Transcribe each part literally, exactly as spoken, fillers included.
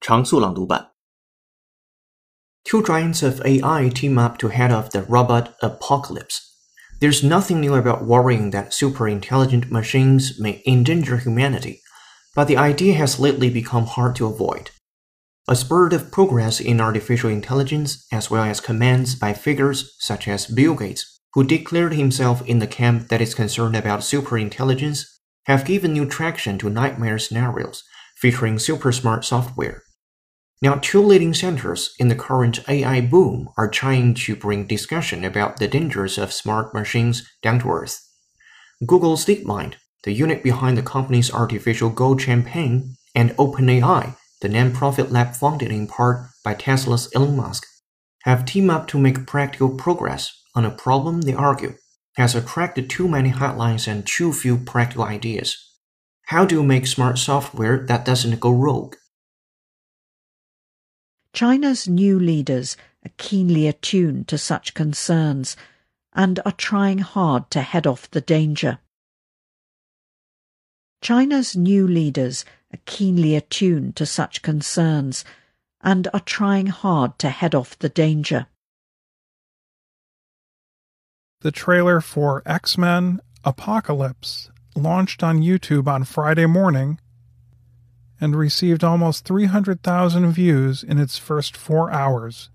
常速朗读版 Two giants of A I team up to head off the robot apocalypse. There's nothing new about worrying that super-intelligent machines may endanger humanity, but the idea has lately become hard to avoid. A spurt of progress in artificial intelligence, as well as comments by figures such as Bill Gates, who declared himself in the camp that is concerned about superintelligence, have given new traction to nightmare scenarios featuring super-smart software. Now, two leading centers in the current A I boom are trying to bring discussion about the dangers of smart machines down to earth. Google's DeepMind, the unit behind the company's Artificial Go campaign, and OpenAI, the non-profit lab funded in part by Tesla's Elon Musk, have teamed up to make practical progress on a problem they argue has attracted too many headlines and too few practical ideas. How do you make smart software that doesn't go rogue? China's new leaders are keenly attuned to such concerns and are trying hard to head off the danger. China's new leaders are keenly attuned to such concerns and are trying hard to head off the danger. The trailer for X-Men Apocalypse launched on YouTube on Friday morning and received almost three hundred thousand views in its first four hours.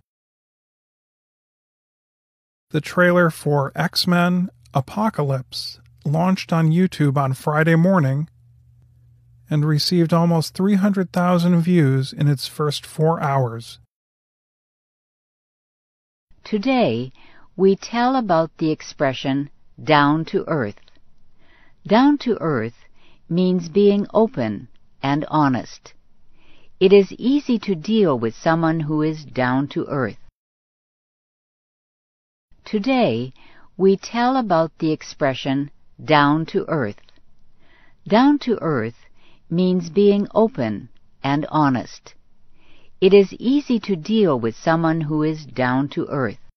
The trailer for X-Men Apocalypse launched on YouTube on Friday morning and received almost three hundred thousand views in its first four hours. Today, we tell about the expression down to earth. Down to earth means being open and honest. It is easy to deal with someone who is down to earth. Today, we tell about the expression down to earth. Down to earth means being open and honest. It is easy to deal with someone who is down to earth.